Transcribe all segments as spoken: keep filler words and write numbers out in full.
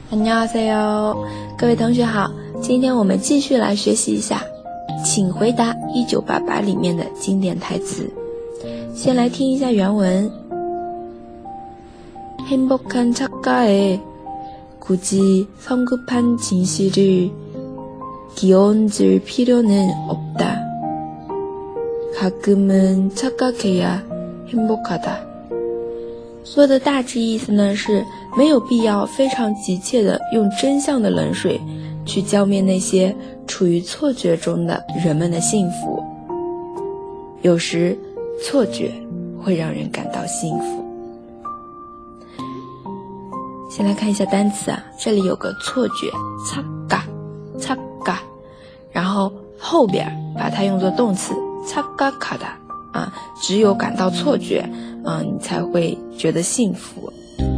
안녕하세요，各位同学好，今天我们继续来学习一下请回答一九八八里面的经典台词。先来听一下原文。행복한 작가에 굳이 성급한 진실을 끼얹을 필요는 없다. 가끔은 착각해야 행복하다。说的大致意思呢是没有必要非常急切的用真相的冷水去浇灭那些处于错觉中的人们的幸福，有时错觉会让人感到幸福。先来看一下单词啊，这里有个错觉착각 착각，然后后边把它用作动词착각하다啊，只有感到错觉啊，你才会觉得幸福，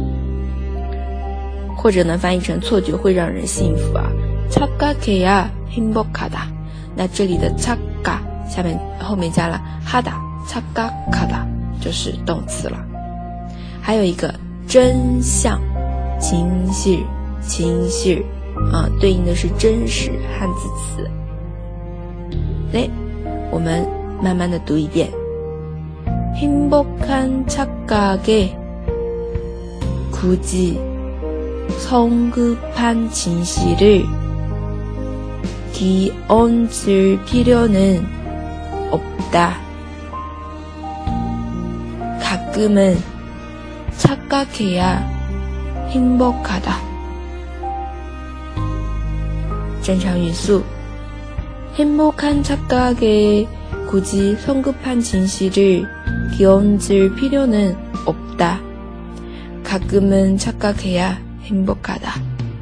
或者能翻译成错觉会让人幸福啊。착각해야 행복하다，那这里的착각下面后面加了하다，착각하다就是动词了。还有一个真相，진실，진실啊，对应的是真实汉字词。来，我们慢慢的读一遍。행복한 착각에 굳이 성급한 진실을 끼얹을 필요는 없다. 가끔은 착각해야 행복하다. 正常语速。행복한 착각에 굳이 성급한 진실을 끼얹을 필요는 없다. 가끔은 착각해야 행복하다.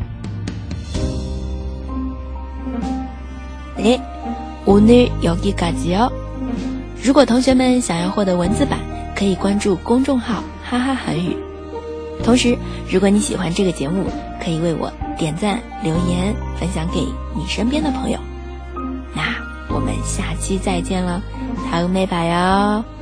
네, 오늘 여기까지요. 如果同学们想要获得文字版，可以关注公众号哈哈韩语。同时，如果你喜欢这个节目，可以为我点赞、留言、分享给你身边的朋友。那我们下期再见了，다음에 봐요。